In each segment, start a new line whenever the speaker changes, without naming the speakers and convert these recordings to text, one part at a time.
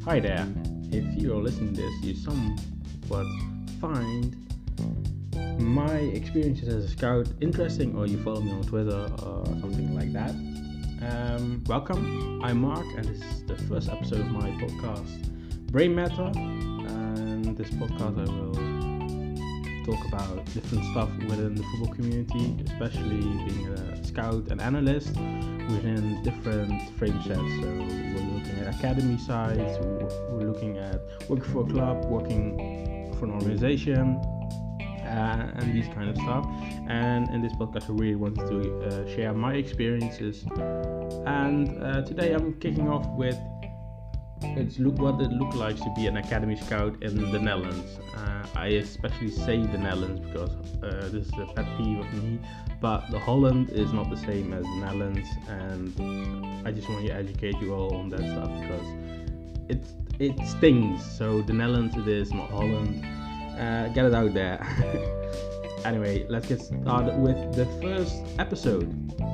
Hi there. If you're listening to this, you somewhat find my experiences as a scout interesting, or you follow me on Twitter or something like that. Welcome. I'm Mark, and this is the first episode of my podcast, Brain Matter. And this podcast, I will talk about different stuff within the football community, especially being a scout and analyst within different frame sets. So we're looking at academy sides, we're looking at working for a club, working for an organization, and these kind of stuff. And in this podcast, I really wanted to share my experiences. And today I'm kicking off with what it looks like to be an academy scout in the Netherlands. I especially say the Netherlands because this is a pet peeve of me, but the Holland is not the same as the Netherlands, and I just want to educate you all on that stuff because it stings. So the Netherlands it is, not Holland. Get it out there. Anyway, let's get started with the first episode.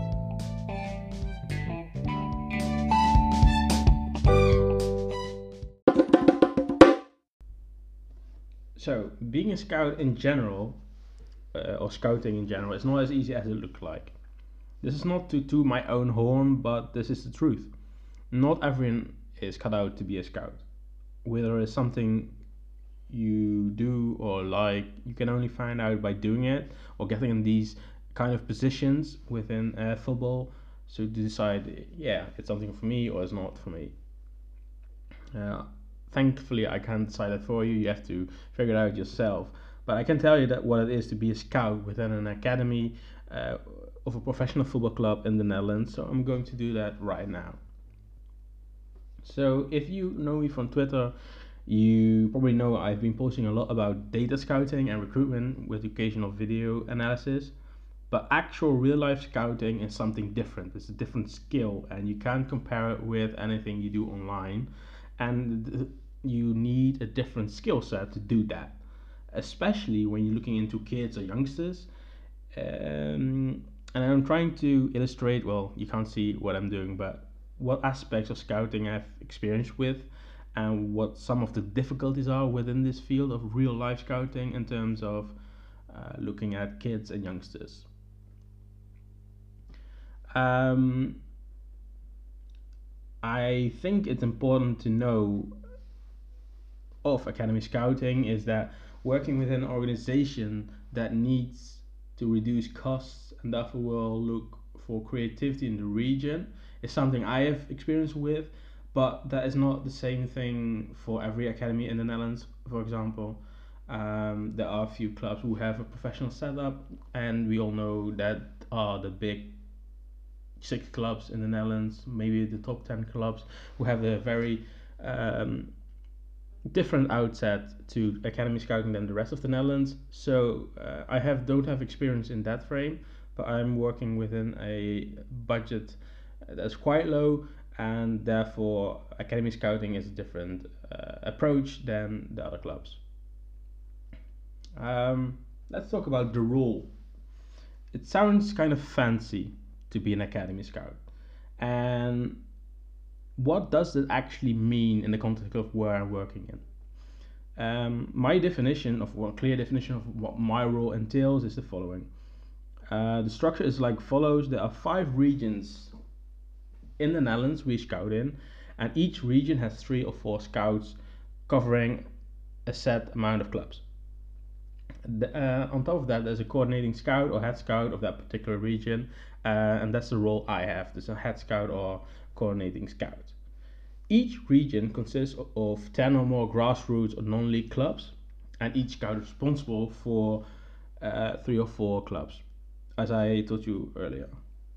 So, being a scout in general, or scouting in general, is not as easy as it looks like. This is not to toot my own horn, but this is the truth. Not everyone is cut out to be a scout. Whether it's something you do or like, you can only find out by doing it or getting in these kind of positions within football. So to decide, it's something for me or it's not for me. Thankfully, I can't decide that for you. You have to figure it out yourself. But I can tell you that what it is to be a scout within an academy of a professional football club in the Netherlands. So I'm going to do that right now. So if you know me from Twitter, you probably know I've been posting a lot about data scouting and recruitment with occasional video analysis. But actual real life scouting is something different. It's a different skill, and you can't compare it with anything you do online. And you need a different skill set to do that, especially when you're looking into kids or youngsters. And I'm trying to illustrate, well, you can't see what I'm doing, but what aspects of scouting I've experienced with and what some of the difficulties are within this field of real life scouting in terms of looking at kids and youngsters. I think it's important to know of academy scouting is that working within an organization that needs to reduce costs and therefore will look for creativity in the region is something I have experience with, but that is not the same thing for every academy in the Netherlands. For example, there are a few clubs who have a professional setup, and we all know that are the big 6 clubs in the Netherlands, maybe the top 10 clubs, who have a very different outset to academy scouting than the rest of the Netherlands. So I don't have experience in that frame, but I'm working within a budget that's quite low, and therefore academy scouting is a different approach than the other clubs. Let's talk about the role. It sounds kind of fancy to be an academy scout, and what does it actually mean in the context of where I'm working in? My definition of clear definition of what my role entails is the following. The structure is like follows. There are 5 regions in the Netherlands we scout in, and each region has 3 or 4 scouts covering a set amount of clubs. On top of that, there's a coordinating scout or head scout of that particular region, and that's the role I have. There's a head scout or coordinating scout. Each region consists of 10 or more grassroots or non-league clubs, and each scout is responsible for 3 or 4 clubs, as I told you earlier.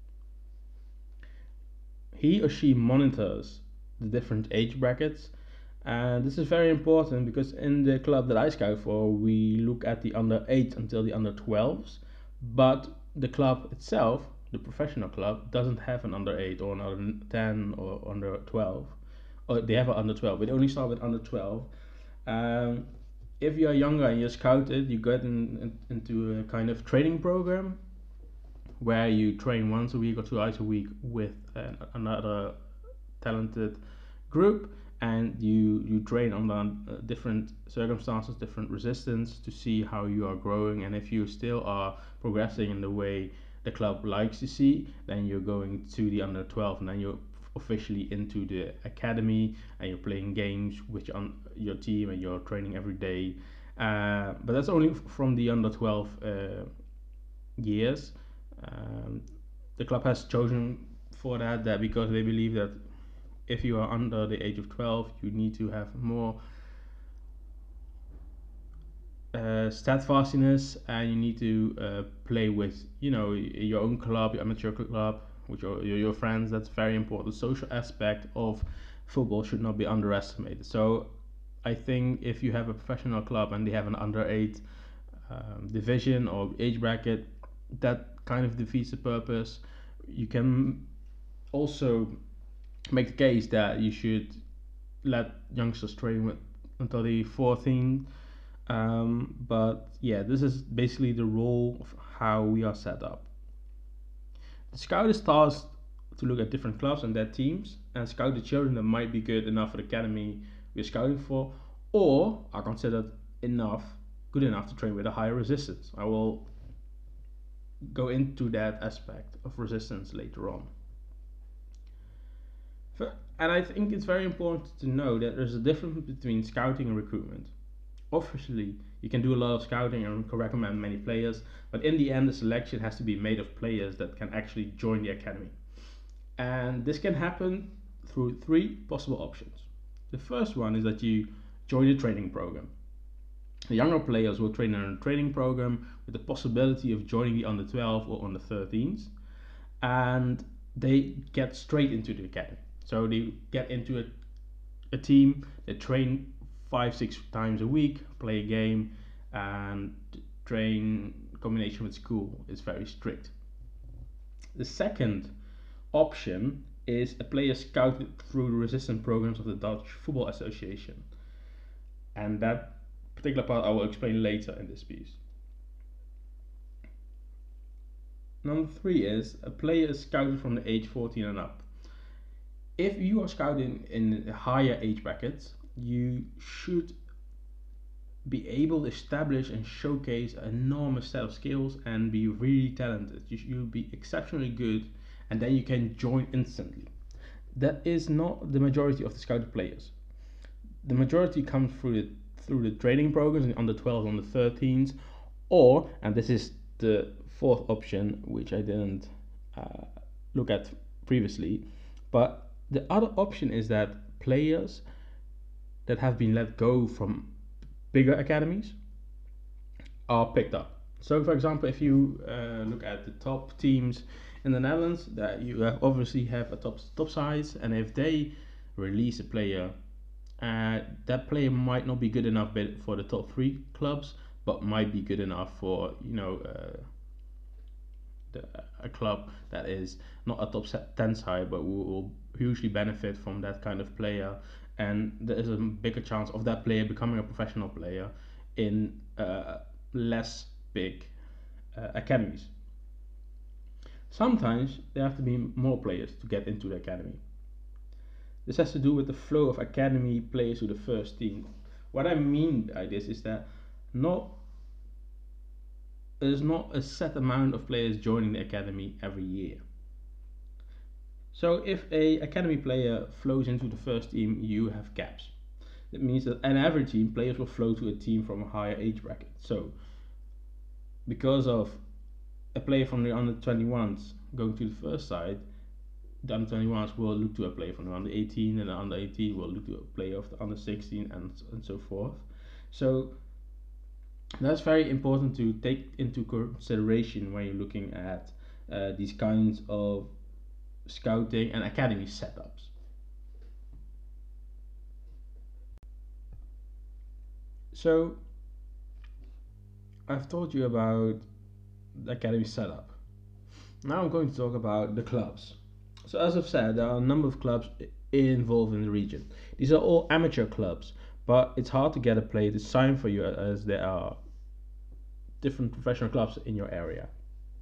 He or she monitors the different age brackets, and this is very important because in the club that I scout for, we look at the under 8 until the under 12s, but the club itself, the professional club, doesn't have an under 8 or an under 10 or under 12. Or they have an under 12, but they only start with under 12. If you are younger and you're scouted, you get into a kind of training program where you train once a week or 2 hours a week with another talented group, and you train under different circumstances, different resistance to see how you are growing, and if you still are progressing in the way the club likes to see, then you're going to the under 12, and then you're officially into the academy, and you're playing games with your team, and you're training every day. But that's only from the under 12 years. Um, the club has chosen for that because they believe that if you are under the age of 12, you need to have more steadfastness, and you need to play with your own club, your amateur club, with your friends. That's very important. The social aspect of football should not be underestimated. So I think if you have a professional club and they have an under 8 division or age bracket, that kind of defeats the purpose. You can also make the case that you should let youngsters train with until the 14. But yeah, this is basically the role of how we are set up. The scout is tasked to look at different clubs and their teams and scout the children that might be good enough for the academy we're scouting for, or are considered good enough to train with a higher resistance. I will go into that aspect of resistance later on. And I think it's very important to know that there's a difference between scouting and recruitment. Obviously, you can do a lot of scouting and can recommend many players, but in the end, the selection has to be made of players that can actually join the academy. And this can happen through three possible options. The first one is that you join a training program. The younger players will train in a training program with the possibility of joining the under 12 or under 13s, and they get straight into the academy. So they get into a team, they train 5-6 times a week, play a game, and train in combination with school is very strict. The second option is a player scouted through the resistance programs of the Dutch Football Association, and that particular part I will explain later in this piece. Number 3 is a player is scouted from the age 14 and up. If you are scouting in higher age brackets, you should be able to establish and showcase an enormous set of skills and be really talented. You'll be exceptionally good, and then you can join instantly. That is not the majority of the scouted players. The majority comes through the training programs on the 12s, on the 13s, or, and this is the fourth option, which I didn't look at previously, but the other option is that players that have been let go from bigger academies are picked up. So, for example, if you look at the top teams in the Netherlands, that you obviously have a top size, and if they release a player, that player might not be good enough for the top 3 clubs, but might be good enough for a club that is not a top 10 side, but will hugely benefit from that kind of player, and there is a bigger chance of that player becoming a professional player in less big academies. Sometimes there have to be more players to get into the academy. This has to do with the flow of academy players to the first team. What I mean by this is that there's not a set amount of players joining the academy every year. So if a academy player flows into the first team, you have gaps. That means that in every team, players will flow to a team from a higher age bracket. So because of a player from the under 21s going to the first side, the under 21s will look to a player from the under 18, and the under 18 will look to a player of the under 16, and so forth. So that's very important to take into consideration when you're looking at these kinds of scouting and academy setups. So I've told you about the academy setup. Now I'm going to talk about the clubs. So as I've said, there are a number of clubs involved in the region. These are all amateur clubs, but it's hard to get a player to sign for you as there are different professional clubs in your area.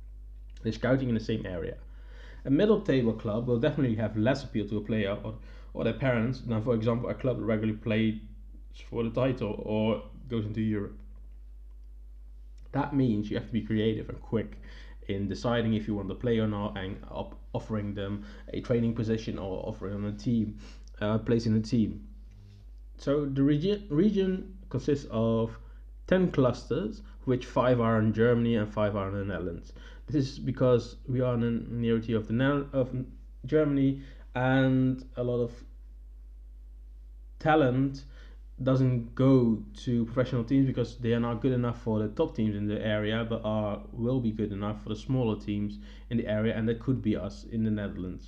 They're scouting in the same area. A middle table club will definitely have less appeal to a player or their parents than, for example, a club that regularly plays for the title or goes into Europe. That means you have to be creative and quick in deciding if you want to play or not, and offering them a training position or offering them a team, place in a team. So the region consists of 10 clusters, which 5 are in Germany and 5 are in the Netherlands. This is because we are in the nearity of of Germany, and a lot of talent doesn't go to professional teams because they are not good enough for the top teams in the area, but will be good enough for the smaller teams in the area, and that could be us in the Netherlands.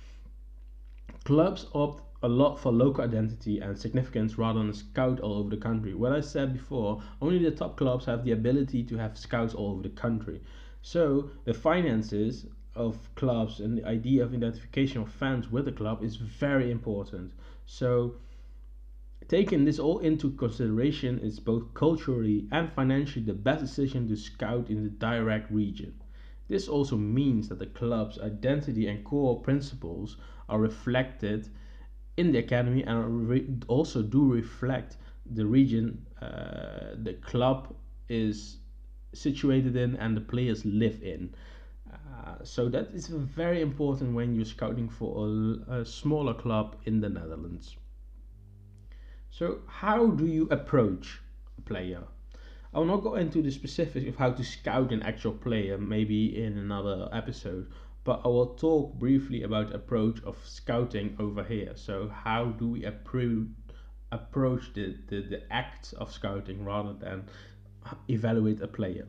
Clubs opt a lot for local identity and significance rather than scout all over the country. What I said before, only the top clubs have the ability to have scouts all over the country. So the finances of clubs and the idea of identification of fans with the club is very important. So taking this all into consideration is both culturally and financially the best decision to scout in the direct region. This also means that the club's identity and core principles are reflected in the academy and also do reflect the region the club is situated in and the players live in. So that is very important when you're scouting for a smaller club in the Netherlands. So how do you approach a player? I will not go into the specifics of how to scout an actual player, maybe in another episode, but I will talk briefly about the approach of scouting over here. So how do we approach the act of scouting rather than evaluate a player?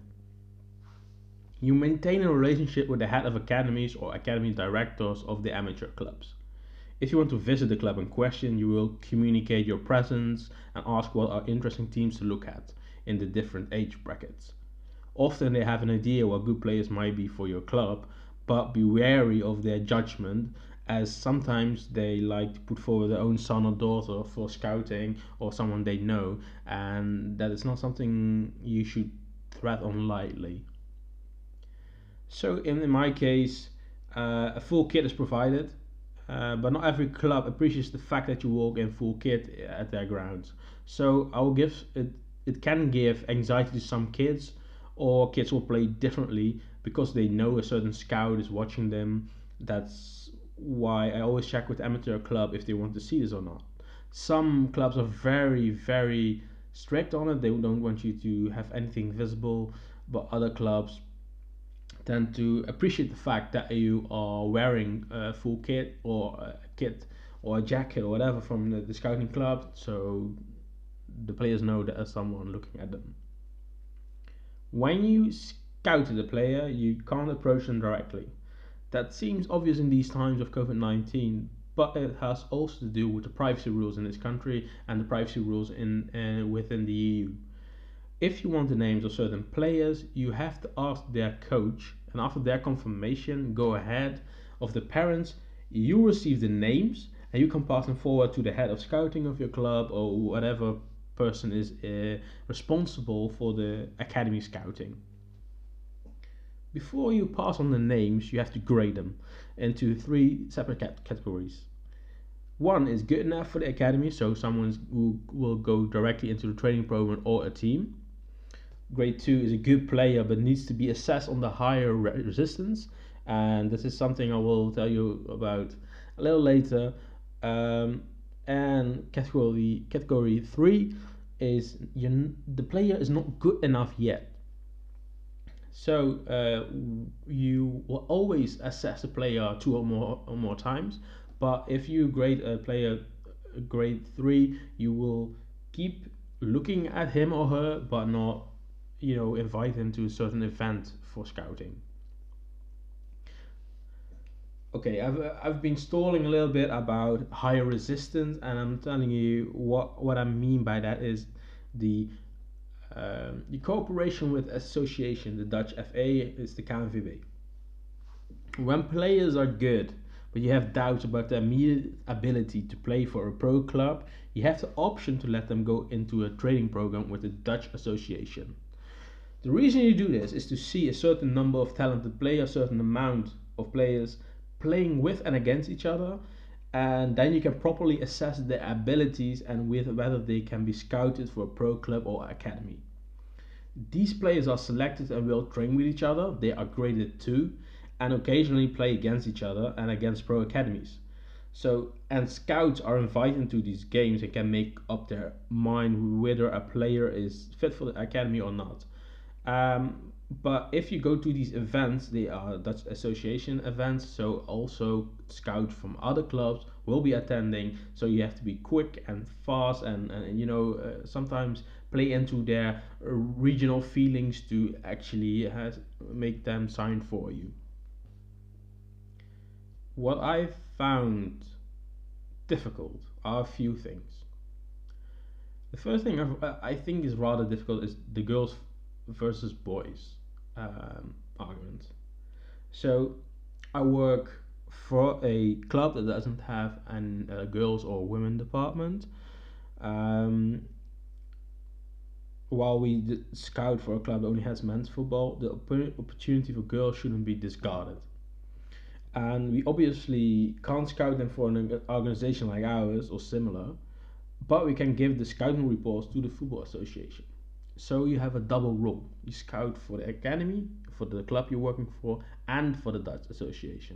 You maintain a relationship with the head of academies or academy directors of the amateur clubs. If you want to visit the club in question, you will communicate your presence and ask what are interesting teams to look at in the different age brackets. Often they have an idea what good players might be for your club, but be wary of their judgment, as sometimes they like to put forward their own son or daughter for scouting or someone they know, and that is not something you should tread on lightly. So in my case, a full kit is provided, but not every club appreciates the fact that you walk in full kit at their grounds. So I will give it. It can give anxiety to some kids, or kids will play differently because they know a certain scout is watching them. That's why I always check with the amateur club if they want to see this or not. Some clubs are very strict on it. They don't want you to have anything visible, but other clubs tend to appreciate the fact that you are wearing a full kit or a kit or a jacket or whatever from the scouting club, so the players know that there's someone looking at them. When you scout the player, you can't approach them directly. That seems obvious in these times of COVID-19, but it has also to do with the privacy rules in this country and the privacy rules within the EU. If you want the names of certain players, you have to ask their coach, and after their confirmation, go ahead of the parents. You receive the names, and you can pass them forward to the head of scouting of your club or whatever person is responsible for the academy scouting. Before you pass on the names, you have to grade them into 3 separate categories. One is good enough for the academy, so someone who will go directly into the training program or a team. Grade 2 is a good player but needs to be assessed on the higher resistance, and this is something I will tell you about a little later. And category 3 is the player is not good enough yet. So you will always assess a player 2 or more times, but if you grade a player grade 3, you will keep looking at him or her, but not invite him to a certain event for scouting. Okay, I've been stalling a little bit about higher resistance, and I'm telling you what I mean by that is the cooperation with association. The Dutch FA is the KNVB. When players are good, but you have doubts about their immediate ability to play for a pro club, you have the option to let them go into a training program with the Dutch association. The reason you do this is to see a certain number of talented players, a certain amount of players playing with and against each other, and then you can properly assess their abilities and with whether they can be scouted for a pro club or academy. These players are selected and will train with each other. They are graded too, and occasionally play against each other and against pro academies. So, and scouts are invited to these games and can make up their mind whether a player is fit for the academy or not. But if you go to these events, they are Dutch Association events, so also scouts from other clubs will be attending. So you have to be quick and fast, and sometimes play into their regional feelings to actually make them sign for you. What I found difficult are a few things. The first thing I think is rather difficult is the girls versus boys argument. So I work for a club that doesn't have a girls or women department. Um, while we scout for a club that only has men's football, the opportunity for girls shouldn't be discarded. And we obviously can't scout them for an organization like ours or similar, but we can give the scouting reports to the Football Association. So you have a double role. You scout for the academy, for the club you're working for, and for the Dutch Association.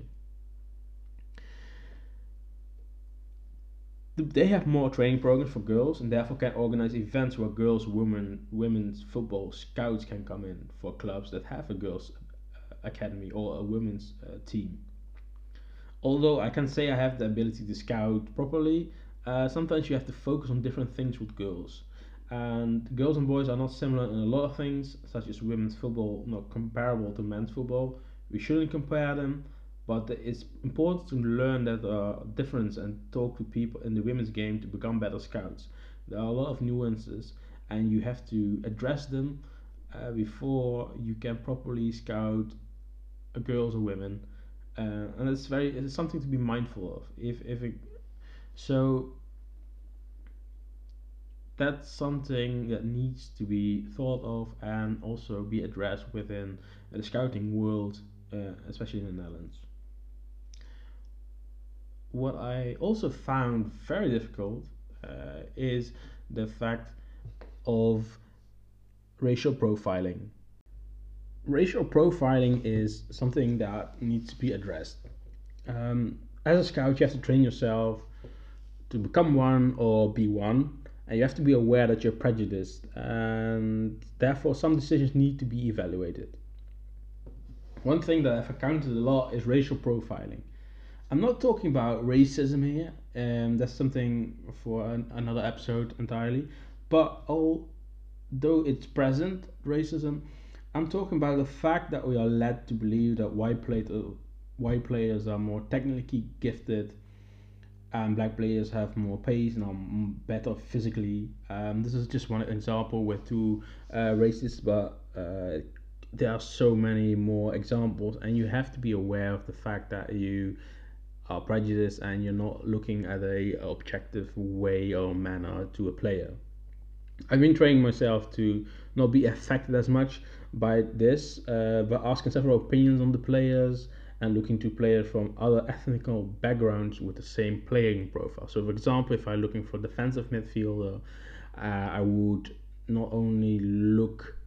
They have more training programs for girls and therefore can organize events where girls, women's football scouts can come in for clubs that have a girls academy or a women's team. Although I can say I have the ability to scout properly, sometimes you have to focus on different things with girls. And girls and boys are not similar in a lot of things, such as women's football not comparable to men's football. We shouldn't compare them, but it's important to learn that there are difference and talk to people in the women's game to become better scouts. There are a lot of nuances, and you have to address them before you can properly scout girls or women, and it's something to be mindful of. If it, so that's something that needs to be thought of and also be addressed within the scouting world, especially in the Netherlands. What I also found very difficult is the fact of racial profiling. Racial profiling is something that needs to be addressed. As a scout, you have to train yourself to become one or be one, and you have to be aware that you're prejudiced, and therefore some decisions need to be evaluated. One thing that I've encountered a lot is racial profiling. I'm not talking about racism here, and that's something for another episode entirely. But although it's present, racism, I'm talking about the fact that we are led to believe that white players are more technically gifted and black players have more pace and are better physically. This is just one example with two races, but there are so many more examples, and you have to be aware of the fact that you are prejudiced and you're not looking at a objective way or manner to a player. I've been training myself to not be affected as much by this, but asking several opinions on the players and looking to players from other ethnical backgrounds with the same playing profile. So, for example, if I'm looking for defensive midfielder, I would not only look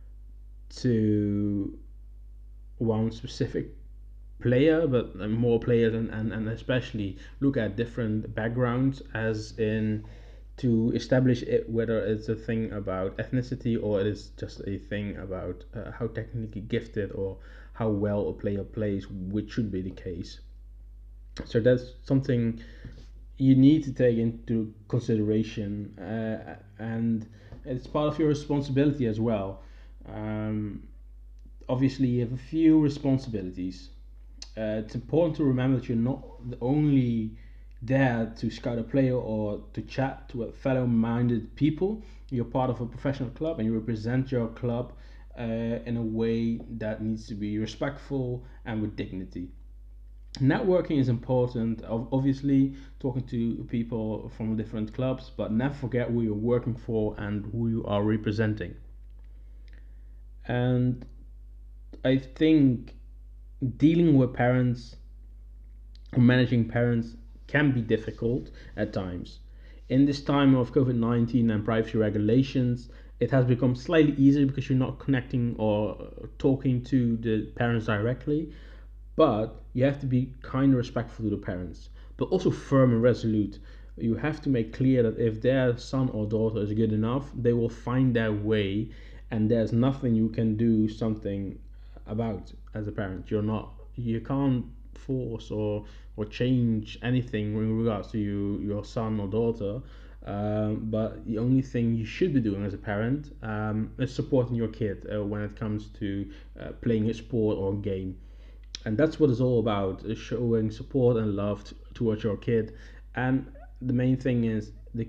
to one specific player, but more players, and especially look at different backgrounds, as in to establish it, whether it's a thing about ethnicity or it is just a thing about how technically gifted or how well a player plays, which should be the case. So that's something you need to take into consideration, and it's part of your responsibility as well. Um, Obviously, you have a few responsibilities. It's important to remember that you're not the only there to scout a player or to chat to a fellow minded people. You're part of a professional club and you represent your club in a way that needs to be respectful and with dignity. Networking is important, obviously, talking to people from different clubs, but never forget who you're working for and who you are representing. And I think dealing with parents or managing parents can be difficult at times. In this time of COVID-19 and privacy regulations, it has become slightly easier because you're not connecting or talking to the parents directly, but you have to be kind and respectful to the parents, but also firm and resolute. You have to make clear that if their son or daughter is good enough, they will find their way, and there's nothing you can do something about as a parent. You can't force or change anything in regards to your son or daughter. But the only thing you should be doing as a parent is supporting your kid when it comes to playing a sport or a game, and that's what it's all about, is showing support and love towards your kid. And the main thing is the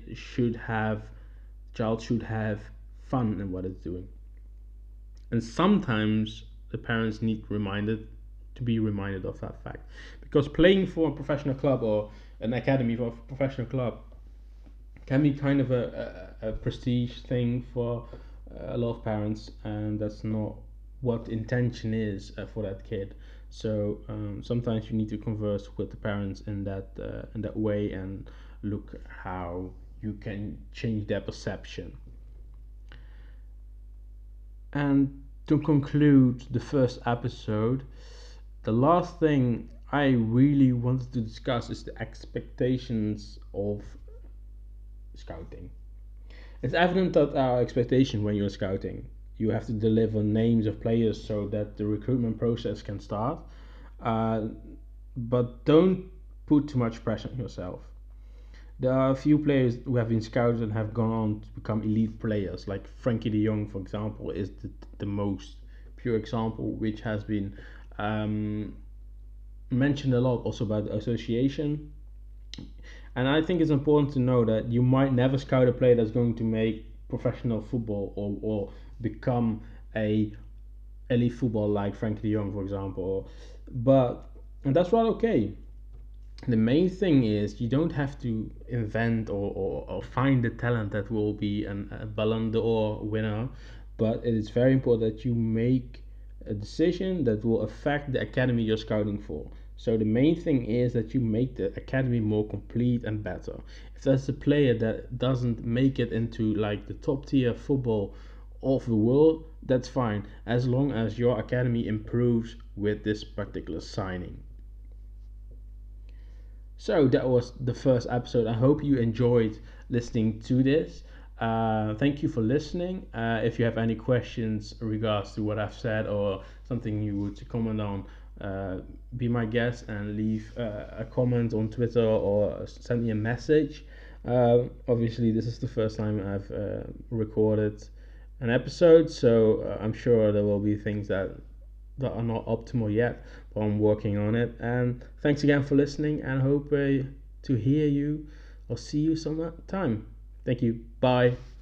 child should have fun in what it's doing. And sometimes the parents need reminded to be reminded of that fact, because playing for a professional club or an academy for a professional club can be kind of a prestige thing for a lot of parents, and that's not what intention is for that kid. So sometimes you need to converse with the parents in that way and look how you can change their perception. And to conclude the first episode, the last thing I really wanted to discuss is the expectations of scouting. It's evident that our expectation when you're scouting, you have to deliver names of players so that the recruitment process can start. Uh, but don't put too much pressure on yourself. There are a few players who have been scouted and have gone on to become elite players, like Frankie de Jong, for example, is the most pure example, which has been mentioned a lot also by the association. And I think it's important to know that you might never scout a player that's going to make professional football or become a elite football like Frankie de Jong, for example. But and that's right, okay. The main thing is you don't have to invent or find the talent that will be a Ballon d'Or winner, but it is very important that you make a decision that will affect the academy you're scouting for. So the main thing is that you make the academy more complete and better. If there's a player that doesn't make it into like the top tier football of the world, that's fine, as long as your academy improves with this particular signing. So that was the first episode. I hope you enjoyed listening to this. Thank you for listening. If you have any questions in regards to what I've said or something you would comment on, be my guest and leave a comment on Twitter or send me a message. Obviously, this is the first time I've recorded an episode, so I'm sure there will be things that are not optimal yet, but I'm working on it. And thanks again for listening, and hope to hear you or see you some time. Thank you. Bye.